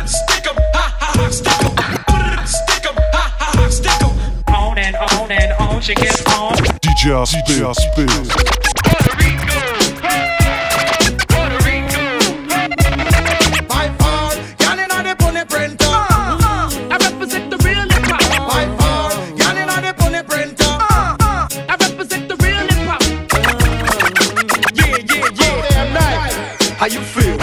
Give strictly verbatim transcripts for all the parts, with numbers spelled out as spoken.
Stick 'em, ha ha ha, stick 'em. Stick 'em, ha ha ha, stick 'em. On and on and on, she gets on. D J Spin, Spin. How you feel?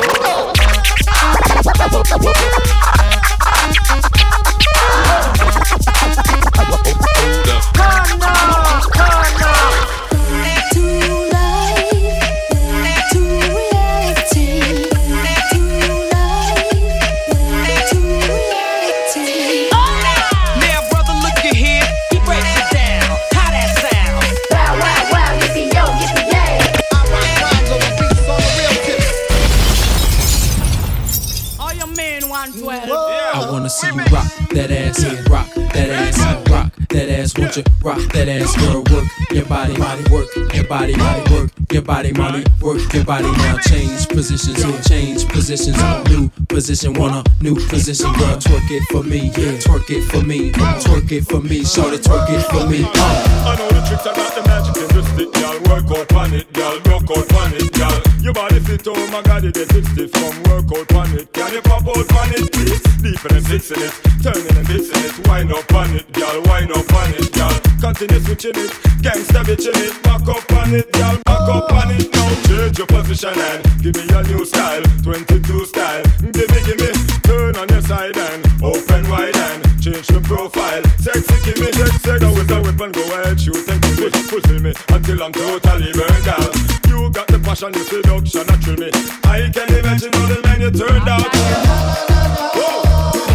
Rock that ass, girl, work your body, body, work your body, body, work your body, body, work your body. Now change positions, change positions, new position, want a new position, girl. Twerk it for me, yeah, twerk it for me, twerk it for me, shorty, twerk it for me. Uh. I know the tricks, I got the magic in the stick, y'all. Work out on it, y'all. Rock out on it, y'all. Your body fit, oh my God, it gets stiff from work out on it. Can you pop out on it, please? Deeper and fixing it, turning and dissing it. Wind up on it, y'all. Wind up on it, y'all. Continue switching it, gangsta bitching it. Back up on it, y'all. Back up on it now. Change your position and give me a new style, twenty-two style. Give me, give me, turn on your side and open wide and change the profile. Sexy, give me sex, sex. Go with the weapon, go ahead, shoot and kill me. Fulfill me until I'm totally burned out. You got the passion, the seduction, that thrill me. I can imagine all the men you turned out. Whoa.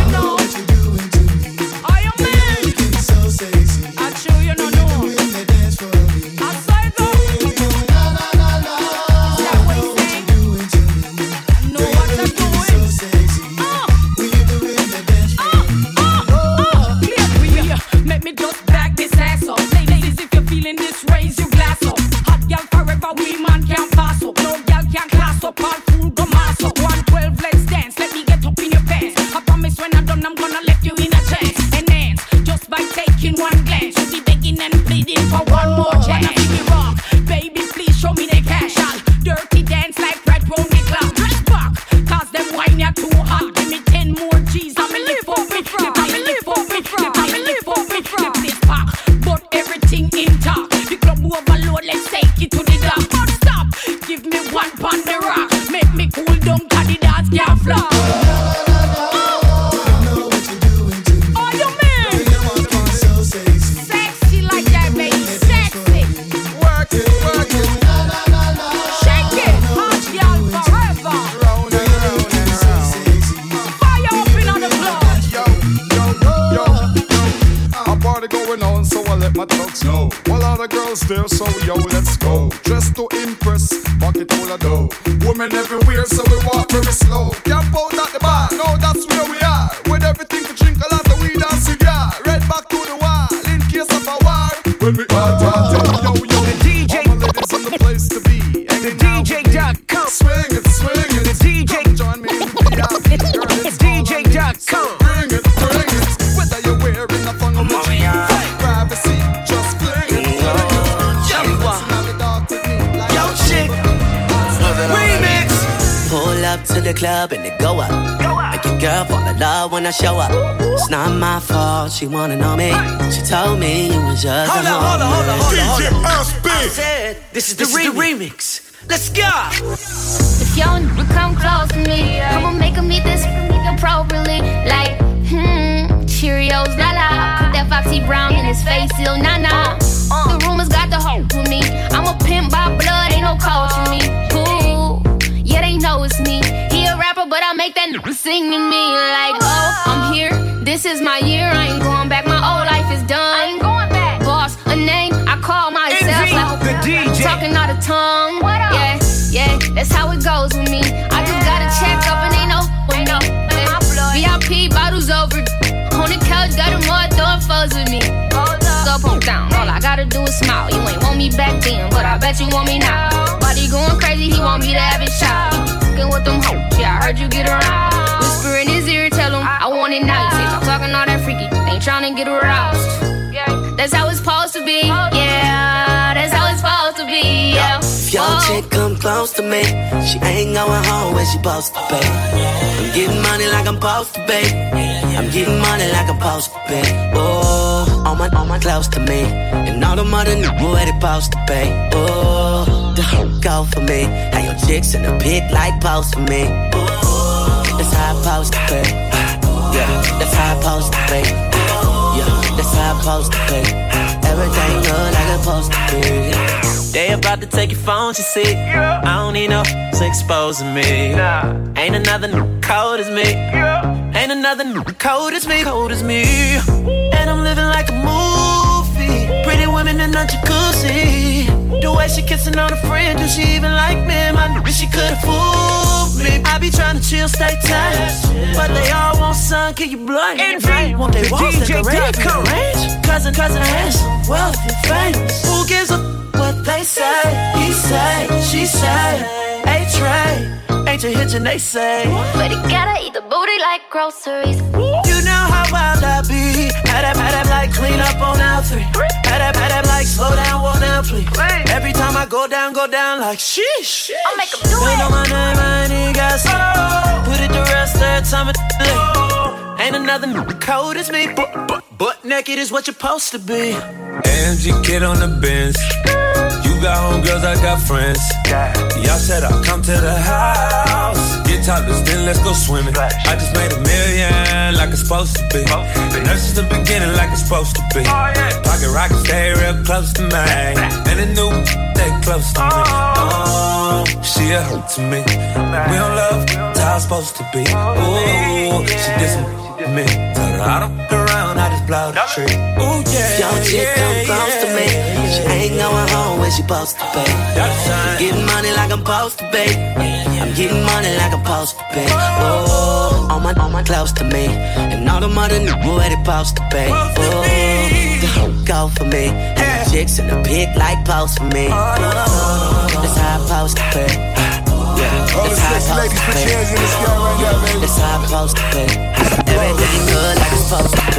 there, so yo, let's go. Dressed to impress, pocket full of dough. Women everywhere, so we walk very slow. Camp out at the bar, no, that's where we are. With everything to drink, a lot of weed and cigar. Right back to the wall, in case of a war. When we all talk, yo, yo, the D J, all my ladies in the place to be. And the D J dot com. Swing it, swing it. The D J, come join me in the yard. Girl, it's D J dot com. Bring it, bring it. Whether you're wearing a funnel with privacy, just fling it. Pull up to the club and it go up. Make your girl fall in love when I show up. It's not my fault, she wanna know me. She told me it was just hold a on, hold on, hold on, hold on, hold on. I said, this is the, this remix. Is the remix. Let's go. If y'all come close to me, I'ma make them eat this appropriately. Like, hmm, Cheerios, la la. Put that Foxy Brown in his face, still nah nah. Uh, the rumors got the hope with me. I'm a pimp by blood, ain't no coach for me. Ooh, yeah, they know it's me. He a rapper, but I make that n- sing to me. Like, oh, I'm here, this is my year. I ain't going back, my old life is done. I ain't going back. Boss, a name, I call myself. Like, the D J. Talking out of tongue. What up? Yeah, yeah, that's how it goes with me. I just got a check up and ain't no, ain't no. V I P bottles over. On the couch, got them all throwing foes with me. Up, on down, all I gotta do is smile. You ain't want me back then, but I bet you want me now. Body going crazy, he want me to have it shot. Fucking with them hoes, yeah, I heard you get around. Whisper in his tryna get aroused. That's how it's supposed to be. Yeah, that's how it's supposed to be. Yeah. If your chick come close to me, she ain't going home where she supposed to be. I'm getting money like I'm supposed to be. I'm getting money like I'm supposed to be. Oh, all my, all my close to me, and all the mother knew where they supposed to be. Oh, the whole go for me. How your chicks in the pit like post for me. Oh, that's how I supposed to be. Yeah, that's how I supposed to be. Yeah, that's how I supposed to be. Everything look like it's supposed to be. They about to take your phone, you see. I don't need no to exposing me. Ain't another new cold as me. Ain't another new cold as me. Cold as me. And I'm living like a movie. Pretty women in a jacuzzi. The way she kissing on a friend, do she even like me? I knew she could've fooled me. I be trying to chill, stay tight, but they all want sun, can you blind? Want they walls decorated in range? Cousin, cousin, handsome, wealthy, famous. Who gives a what they say? He say, she say, A-Tray, ain't you hitching, they say. But you gotta eat the booty like groceries. You know how wild I be. Had that, had that like clean up on L three. Had that, had that like slow down, walk down, please. Every time I go down, go down like sheesh. I'll make them do They it. know my name, I ain't even got to put it to rest every time it late. Ain't another new cold as me. But, but, butt naked is what you're supposed to be. A M G kid on the Benz. You got homegirls, I got friends. Y'all said I'll come to the house. Get topless, then let's go swimming. I just made a million like it's supposed to be. Been there since the beginning like it's supposed to be. Pocket rockets stay real close to me. And the new stay close to me. Oh, she a hurt to me. We don't love, that's how it's supposed to be. Ooh, she did some to me. Tell her I don't look around, I just blow the tree. Ooh, yeah. Your chick come close to me, she ain't going home where she supposed to be. I'm getting money like I'm supposed to be. I'm getting money like I'm supposed to be. Oh, all my, all my close to me, and all the mother knew where they supposed to be. Oh, the whole go for me, and the chicks in the pit like post for me. Oh, that's how I'm supposed to be. Yeah, All the that's how I'm six supposed ladies, to put be. your hands in the sky right now, baby. That's how I'm supposed to be. Everything good like it's supposed to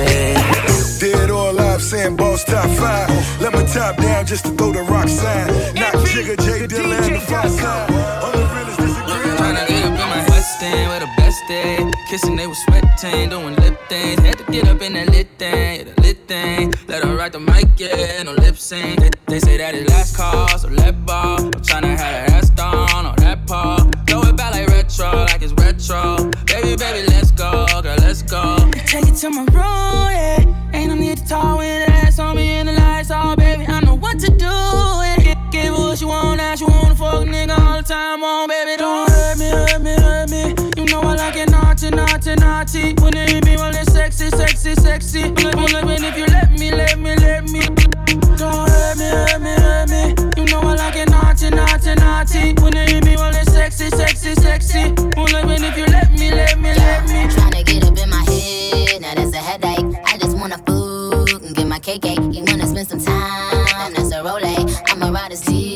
be. Dead or alive, saying boss top five. Let my top down just to throw the rock sign. Not Jigga, J Dilla, and the fly side. All the realest disagree. Tryna get up in my West End with the best day. Kissing, they was sweating, doing lip things. Had to get up in that lit thing, yeah, the lit thing. Let her ride the mic, yeah, no lip sync. They, they say that it's last call, so let ball. I'm tryna have that ass down on that paw. Throw it back like retro, like it's retro. Baby, baby, let's go, girl, let's go. Take it to my room, yeah. Ain't no need to talk with that ass on me in the lights, oh baby, I know what to do. Yeah. Give her what you want, now she wanna fuck nigga all the time, on baby, don't hurt me, hurt me, hurt me. You know I like it naughty, naughty, naughty. When it hit me, when it's sexy, sexy, sexy. Look, look, when if you let me, let me, let me. Don't hurt me, hurt me, hurt me. You know I like it naughty, naughty, naughty. When it hit me, when it's sexy, sexy, sexy. Look, when if you let me, let me, let me. Tryna get up in my head, now that's a headache. I just wanna food and get my cake. You wanna spend some time, that's a role. I'ma ride a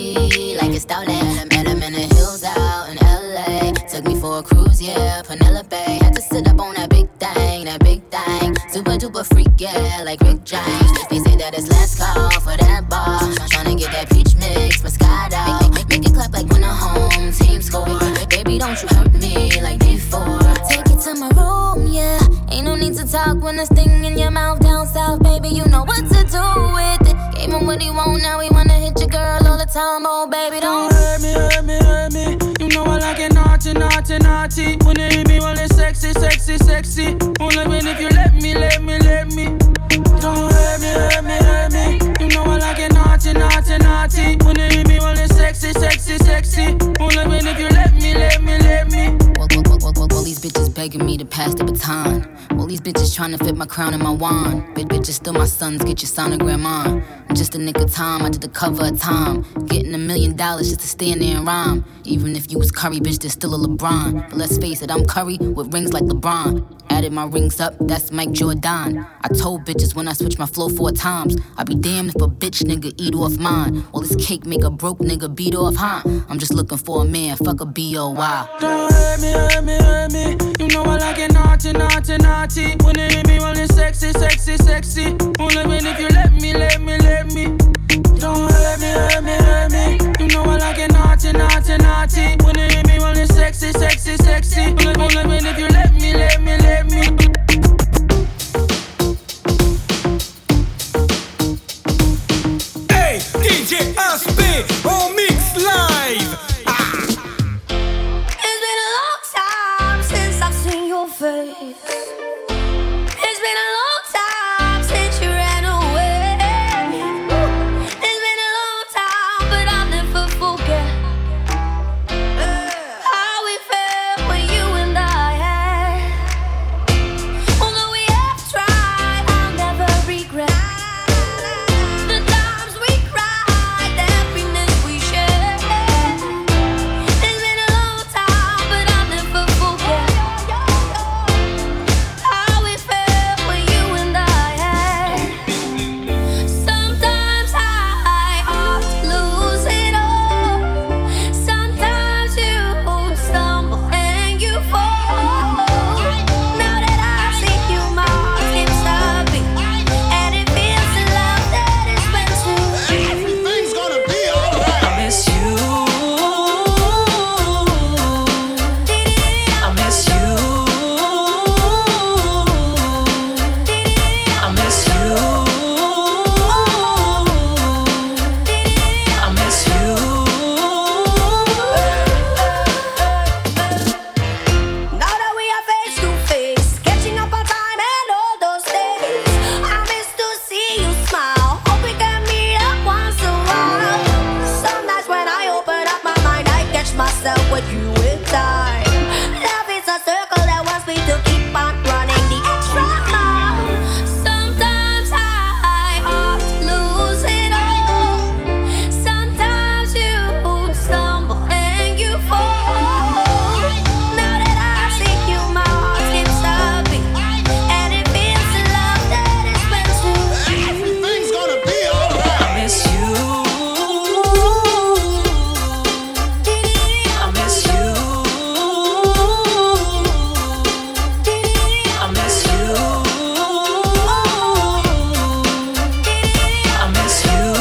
Z like it's stolen. Met him in the hills out in L A. Took me for a cruise, yeah, Penelope. Had to sit up on that big thing, that big thing. Super duper freak, yeah, like Rick James. They say that it's last call for that bar. Tryna get that peach mix, Moscato. Make, make, make it clap like when the home team score. Baby, don't you hurt me like before. Take it to my room, yeah. Ain't no need to talk when there's thing in your mouth down south, baby. You know what to do with it. Gave him what he want, now he wanna hit your girl all the time, oh baby, don't, don't hurt me, hurt me, hurt me. You know I like it naughty, naughty, naughty. When it hit me, when it's sexy, sexy, sexy. Only when if you let me, let me, let me. Don't hurt me, hurt me, hurt me. You know I like it naughty, naughty, naughty. When it hit me, when it's sexy, sexy, sexy. Only when if you let me, let me, let me. Well, well, well, well, well, well, these bitches begging me to pass the baton. Well, these bitches trying to fit my crown in my wand. Bitch, bitches still my sons, get your sonogram on. Just a nick of time, I did the cover of time. Getting a million dollars just to stand there and rhyme. Even if you was Curry, bitch, there's still a LeBron. But let's face it, I'm Curry with rings like LeBron. Added my rings up, that's Mike Jordan. I told bitches when I switch my flow four times, I be damned if a bitch nigga eat off mine. Well, this cake make a broke nigga beat off, huh? I'm just looking for a man, fuck a B O Y. Don't hurt me, hurt me, hurt me. You know I like it naughty, naughty, naughty. When it hit me, when it's sexy, sexy. sexy, sexy. Only when if you let me, let me, let me. Don't hurt me, hurt me, hurt me. You know I like it naughty, naughty, naughty. When you hear me, only sexy, sexy, sexy. Only, only when if you let me, let me, let me. Hey, D J S P, on mix live. Ah. It's been a long time since I've seen your face. It's been a long time since you ran away. It's been a long time, but I'll never forget how we felt when you and I had. Although we have tried, I'll never regret the times we cried, the happiness we shared. It's been a long time, but I'll never forget how we felt when you and I had. Sometimes I ought to lose it all. Sometimes you stumble and you fall. Now that I see you, my heart skips a beat, and it feels the love that it's meant to be. Everything's gonna be alright. I miss you. I miss you. I miss you. I miss you. Now that we are face to face, catching up on time and all those days, I miss to see you smile. Hope we can meet up once a while. Some nights when I open up my mind, I catch myself with you with time. Love is a circle that wants me to keep on running the extra mile. Sometimes I ought to lose it all. Sometimes you stumble and you fall. Now that I see you, my heart skips a beat, and it feels the love that it's meant to be. Everything's gonna be alright. I miss you. I miss you. I miss you. I miss you.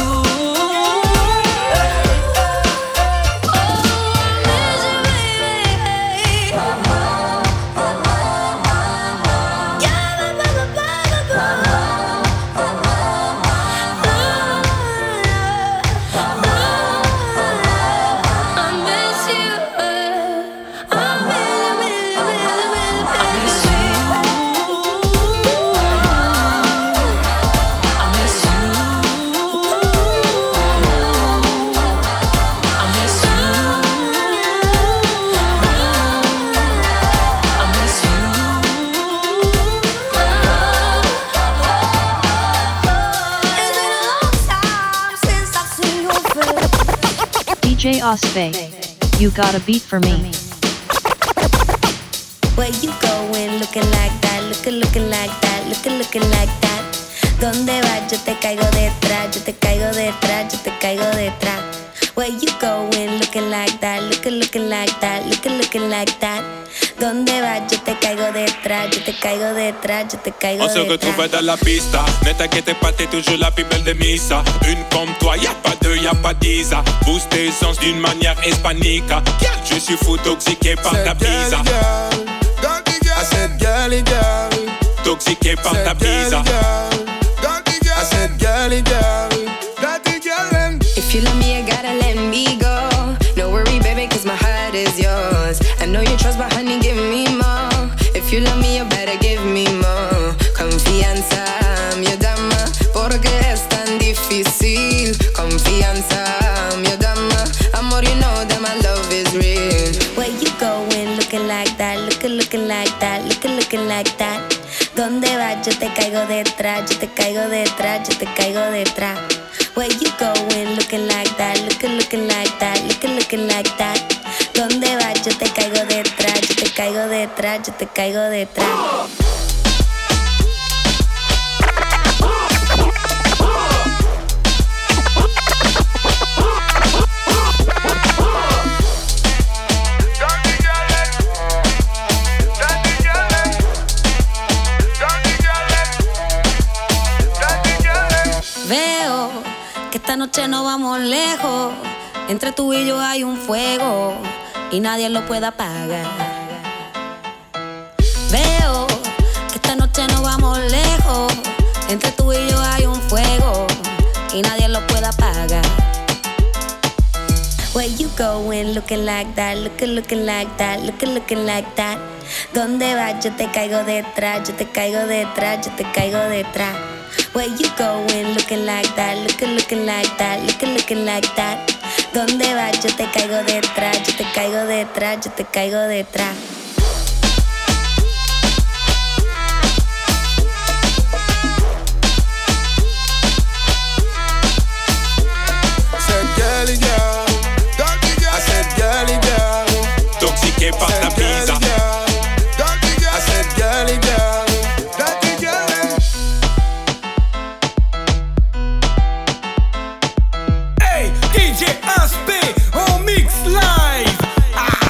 D J Ospe, you got a beat for me. Where you going looking like that, looking, looking like that, looking, looking like that. ¿Dónde vas? Yo te caigo detrás, yo te caigo detrás, yo te caigo detrás. Where you going looking like that, looking, looking like that, looking, looking like that. ¿Dónde vas? Yo te caigo detrás, yo te caigo detrás, yo te caigo On se detrás. retrouve dans la pista. Ne t'inquiète pas, t'es toujours la plus belle de Misa. Une comme toi, y'a pas deux, y'a pas dix. Booste tes sens d'une manière hispanique. Je suis fou, toxiqué par ta bise. I said, girly girl. Toxiqué par ta bise. I said, girly girl. Dirty girl. If you love me, you gotta let me go. No worry, baby, cause my heart is yours. I know you trust, but honey, give me more. If you love me, you better give me more. Confianza, mi dama, porque es tan difícil. Confianza, mi dama, amor, you know that my love is real. Where you going looking like that, looking, looking like that, looking, looking like that. ¿Dónde vas? Yo te caigo detrás, yo te caigo detrás, yo te caigo detrás. Where you going looking like that, looking, looking like that, looking, looking like that. ¿Dónde vas? Yo te caigo detrás, yo te caigo detrás, yo te caigo detrás. esta noche no vamos lejos. Entre tú y yo hay un fuego y nadie lo puede apagar. Veo que esta noche no vamos lejos. Entre tú y yo hay un fuego y nadie lo puede apagar. Where you going looking like that, looking, looking like that, looking, looking like that. ¿Dónde vas? Yo te caigo detrás, yo te caigo detrás, yo te caigo detrás. Where you going looking like that, looking, looking like that, looking, looking like that. ¿Dónde vas? Yo te caigo detrás, yo te caigo detrás, yo te caigo detrás. Girly girl, dirty girl. I said girly girl. Toxiqué par ta pizza. Dirty girl. I said girly girl. Dirty girl. Hey, D J Aspé on mix live. Ah.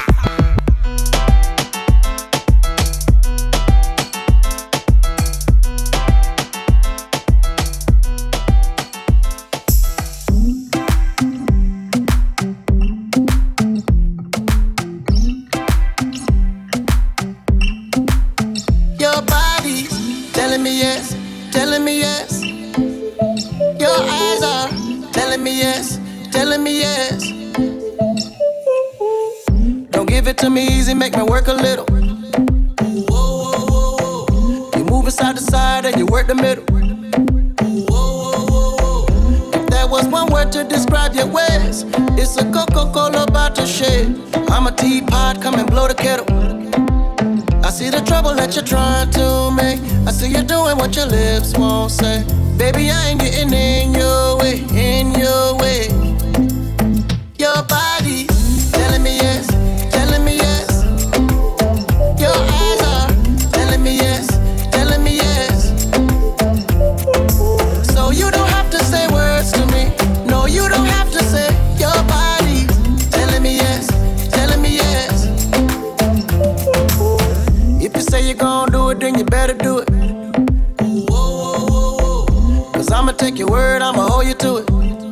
Telling me yes, telling me yes. Your eyes are telling me yes, telling me yes. Don't give it to me easy, make me work a little. You move it side to side and you work the middle. If there was one word to describe your ways, it's a Coca-Cola bottle shade. I'm a teapot, come and blow the kettle. I see the trouble that you're trying to make. I see you doing what your lips won't say. Baby, I ain't getting in your way, in your way. Your body telling me yes, telling me yes. Your eyes are telling me yes, telling me yes. So you don't have to say words to me. No, you don't have to say. Your body telling me yes, telling me yes. If you say you're gon' do it, then you better do it. Cause I'ma take your word, I'ma hold you to it.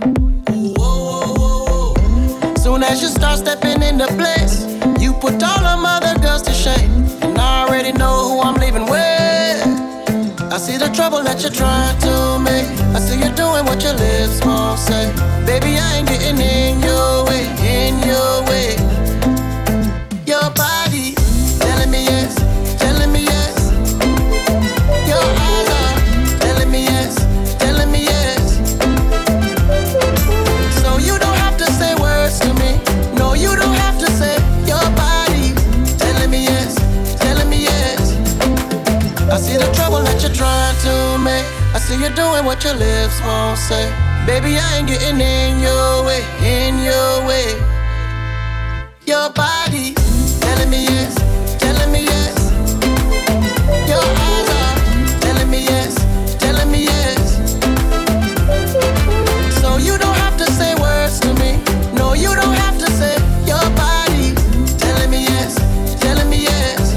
Soon as you start stepping into place, you put all them other girls to shame. And I already know who I'm leaving with. I see the trouble that you're trying to make. I see you doing what your lips won't say. Baby, I ain't getting in your way, in your way. Your body telling me yes, telling me yes. Your eyes are telling me yes, telling me yes. So you don't have to say words to me. No, you don't have to say. Your body telling me yes, telling me yes. I see the trouble that you're trying to make. I see you doing what your lips won't say. Baby, I ain't getting in your way, in your way. Your body telling me yes, telling me yes. Your eyes are telling me yes, telling me yes. So you don't have to say words to me. No, you don't have to say. Your body telling me yes, telling me yes.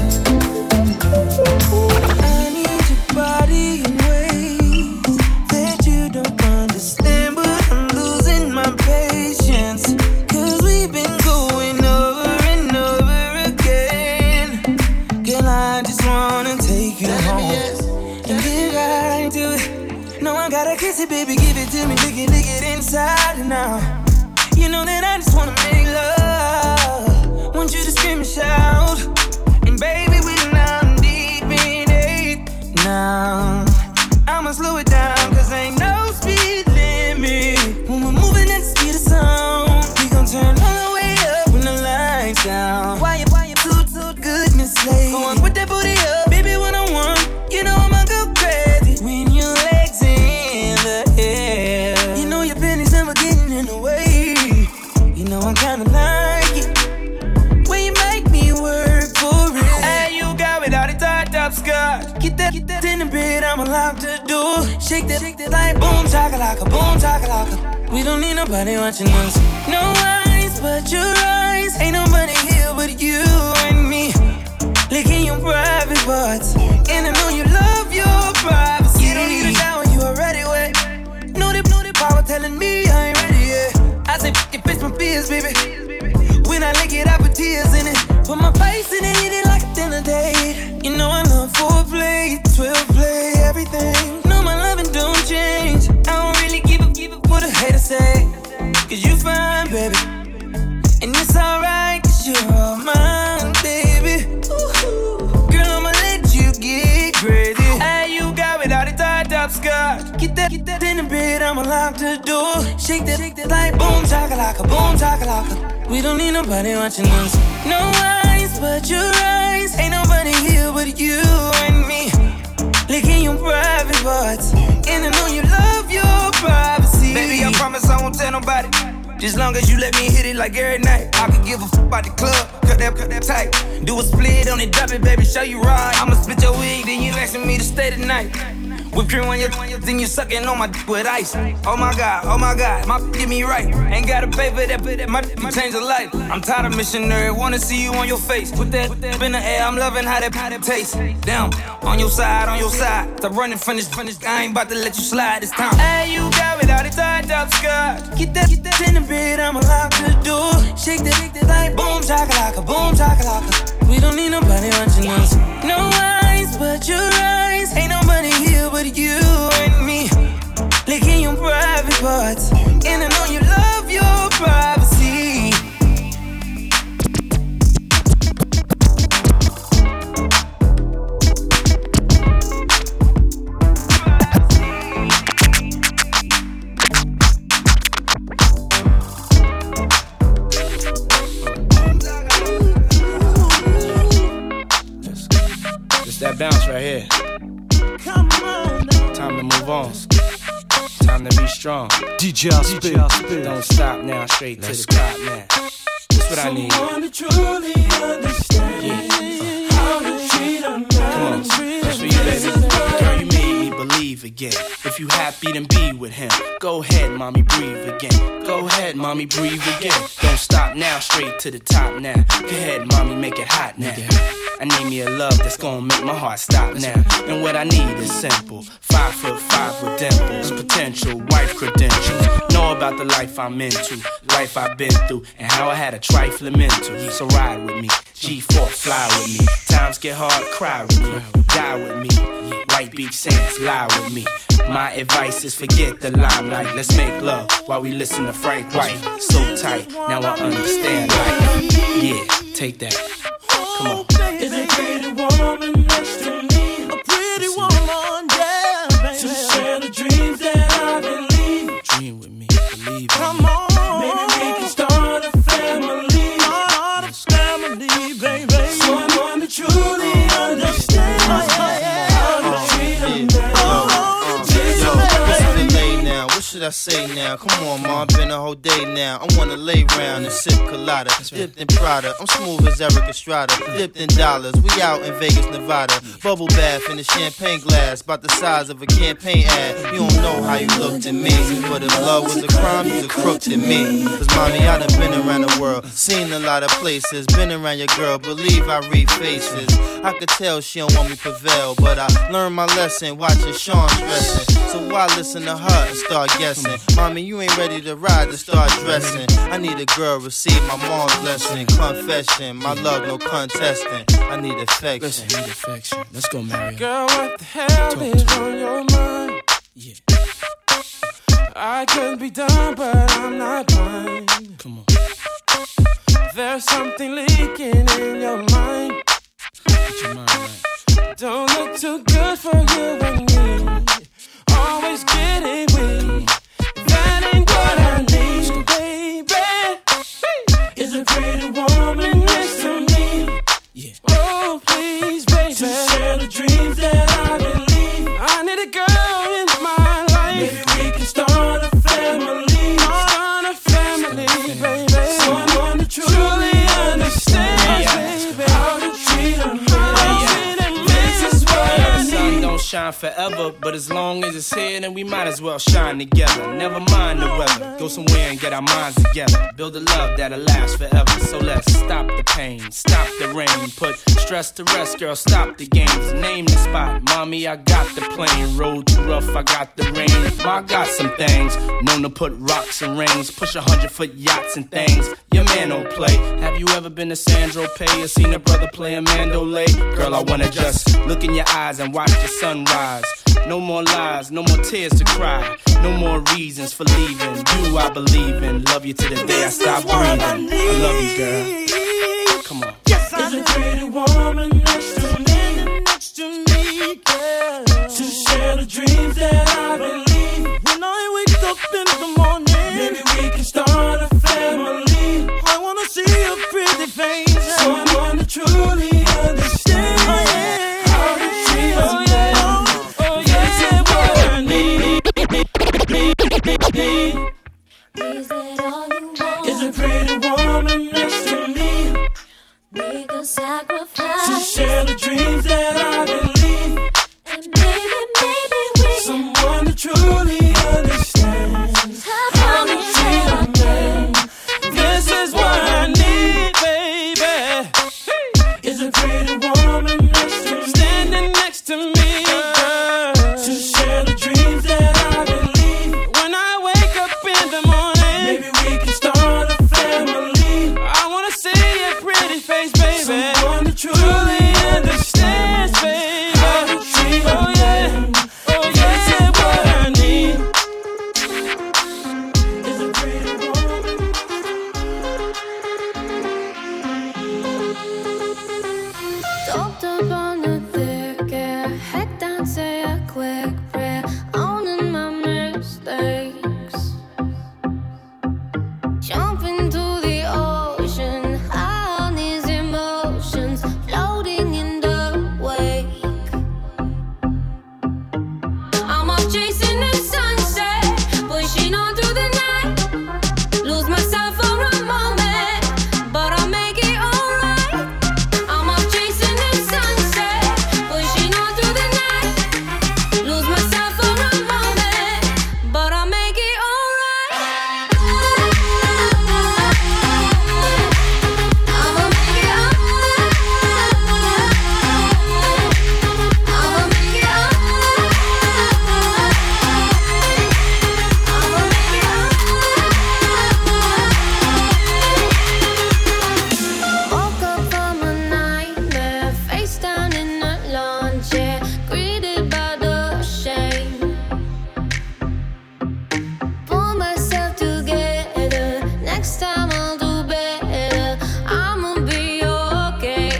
I need your body in ways that you don't understand, but I'm losing my patience. Cause we've been going over and over again. Girl, I just wanna take you home and get right to it. No, I gotta kiss it, baby, give it to me, lick it, lick it inside and out. You know that I just wanna make love. Want you to scream and shout. And baby, we're now deep in it. Now, I'ma slow it down, cause ain't no speed limit. When we're moving at the speed of sound, we gon' turn all the way up when the lights down. Why you, why you Bluetooth goodness late? Go on, put that booty up, baby, one on one. You know I'ma go crazy when your legs in the air. You know your pennies never getting in the way. You know I kinda like it when you make me work for it. Hey, you got without a tied up skirt. Get that, get that in the bed, I'm allowed to do. Shake that, shake that like boom, chakalaka, boom, chakalaka. We don't need nobody watching us. No eyes but your eyes. Ain't nobody here but you and me. Licking your private parts. And I know you love your privacy. You don't need a shower, you already wet. Know the, know the power telling me I ain't is, baby. When I lick it, I put tears in it. Put my face in it, hit it like a dinner date. You know I love foreplay, twelve play, everything. No, my loving don't change. I don't really give a give a what a hater say. Cause you fine, baby. And it's alright, cause you're all mine, baby. Ooh, girl, I'ma let you get crazy. Hey, you got without a tied up skirt. Get that, get that in the bed, I'ma lock the door. Shake that, shake that like boom, chakalaka, boom, chakalaka. We don't need nobody watching us. No eyes but your eyes. Ain't nobody here but you and me. Licking your private parts. And I know you love your privacy. Baby, I promise I won't tell nobody. Just long as you let me hit it like every night. I can give a f about the club, cut that, cut that tight. Do a split on it, drop it, baby, show you right. I'ma split your wig, then you asking me to stay tonight. Whip cream on your, then you sucking on my dick with ice. Oh my God, oh my God, my get me right. Ain't gotta pay for that, but that my dick change a life. I'm tired of missionary, wanna see you on your face. Put that, put that in the air, I'm loving how that, how that tastes. Down, on your side, on your side. Stop running from this, from this. I ain't about to let you slide this time. Hey, you got without a tied up skirt. Get that, get that in the bed, I'ma lock the door. Shake that, shake that like boom, chakalaka, boom, chakalaka. We don't need nobody watching us. No eyes but your eyes. Ain't nobody here but you and me. Licking your private parts. And I know you love your privacy. It's that bounce right here. Come on now. Time to move on. Time to be strong. D J Spit. Don't stop now, straight to the top now. That's what I need. Someone to truly understand. Yeah. Uh. How to treat a man. Come on, that's for you, baby. Girl, you made me believe again. If you happy, then be with him. Go ahead, mommy, breathe again. Go ahead, mommy, breathe again. Don't stop now, straight to the top now. Go ahead, mommy, make it hot now. I need me a love that's gonna make my heart stop now. And what I need is simple. Five foot five with dimples, potential wife credentials. Know about the life I'm into, life I've been through, and how I had a trifling mental. So ride with me, G four, fly with me. Times get hard, cry with me, die with me. White Beach Sands, lie with me. My advice is forget the limelight. Let's make love while we listen to Frank White. So tight, now I understand life. Yeah, take that. Come on. Is a pretty woman next to me? A pretty woman, yeah, baby. To share the dreams that I believe. Dream with me, believe. Come on, maybe we can start a family. Start a family, baby. Someone to truly understand how to treat a man. What should I say now? Come on, ma, been a whole day now. I wanna lay round and sip colada, dipped in Prada. I'm smooth as Eric Estrada, dipped in dollars. We out in Vegas, Nevada. Bubble bath in a champagne glass, about the size of a campaign ad. You don't know how you looked at me, but if love was a crime, you's a crook to me. Cause mommy, I done been around the world, seen a lot of places, been around your girl, believe I read faces. I could tell she don't want me prevail, but I learned my lesson watching Sean stressing. So why listen to her and start guessing? Mommy, you ain't ready to ride to start dressing. I need a girl, receive my mom's blessing. Confession, my love, no contesting. I need affection. Listen, I need affection. Let's go, Mary. Girl, what the hell Talk is on your mind? Yeah. I could be done, but I'm not blind. Come on. There's something leaking in your mind. Get your mind right. Don't look too good for you and me. Always getting weak. That ain't what I need, baby. Is a pretty woman next to me. Yeah. Oh, please, baby. To share the dreams that I believe. I need a girl in my life. Maybe we can start a family. Start a family, baby. Someone to truly understand, baby. How to treat a man. This is what I need. Sun don't shine forever, but as long as it's here, then we might as well shine together. Never mind the weather. Go somewhere and get our minds together. Build a love that'll last forever. So let's stop the pain, stop the rain. Put stress to rest, girl, stop the games. Name the spot, mommy. me, I got the plane. Road too rough, I got the range. I got some things, known to put rocks and rings. Push a hundred foot yachts and things. Your man don't play. Have you ever been to Sandro Pay or seen a brother play a mandolay? Girl, I wanna just look in your eyes and watch the sunrise. No more lies, no more tears to cry. No more reasons for leaving. You I believe in. Love you to the day I stop breathing. I love you, girl. Come on. Yes, I There's a pretty woman next to me, next to me, girl. To share the dreams that I believe. When I wake up in the morning, maybe we can start a family. I wanna see your pretty face, someone to truly understand how to treat us. Oh yeah, oh yeah, what I need. Is that all you want? Is a pretty woman next to me. Make a sacrifice to share the dreams that I believe. And maybe, maybe we someone to truly understand how to treat a man. This is what I need, baby. Is a pretty woman next to me, standing next to me, girl, to share the dreams that I believe. When I wake up in the morning, maybe we can start a family. I wanna see your pretty face, baby. Someone that truly understands, baby. How to treat a oh, man. Yeah. Oh yeah, yeah, what I need is a pretty woman. Doped up on the thick air, head down, say a quick prayer, owning my mistakes. Jump into the ocean, high on these emotions, floating in the wake. I'm off chasing the sunset, pushing on through the night. Lose myself for a moment, but I'll make it alright. I'm off chasing the sunset, pushing on through the night. Lose myself for a moment, but I'll make it alright. I'ma make it alright. I'ma make it alright. I'ma make it alright. Woke up from a nightmare, face down in the lawn chair, greeted by the shame. Pull myself together, next time I'll do better. I'ma be okay.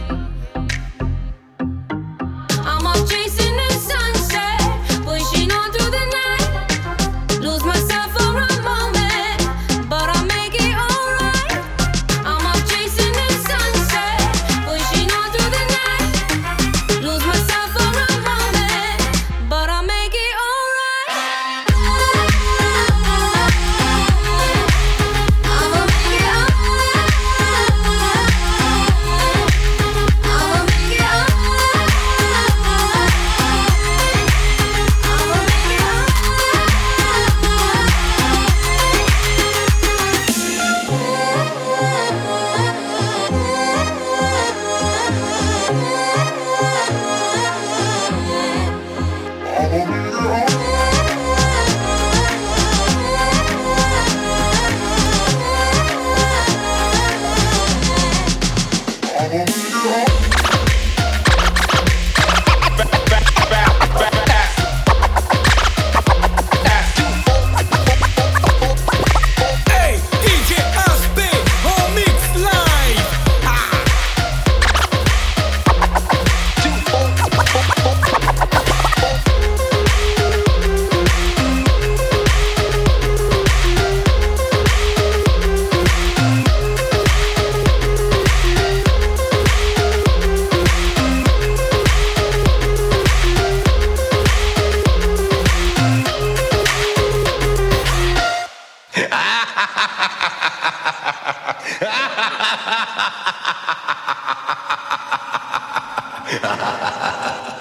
I'm off chasing the sunset, pushing on through the night. Lose myself for a moment, but I'll make it alright. I'm off chasing the sunset, pushing on through the night. Lose myself for a moment, but I'll make it alright. I'ma make it alright. I'ma make it alright. I'ma make it Hey, D J Aspe, on Mix Live. Ha ha ha ha ha.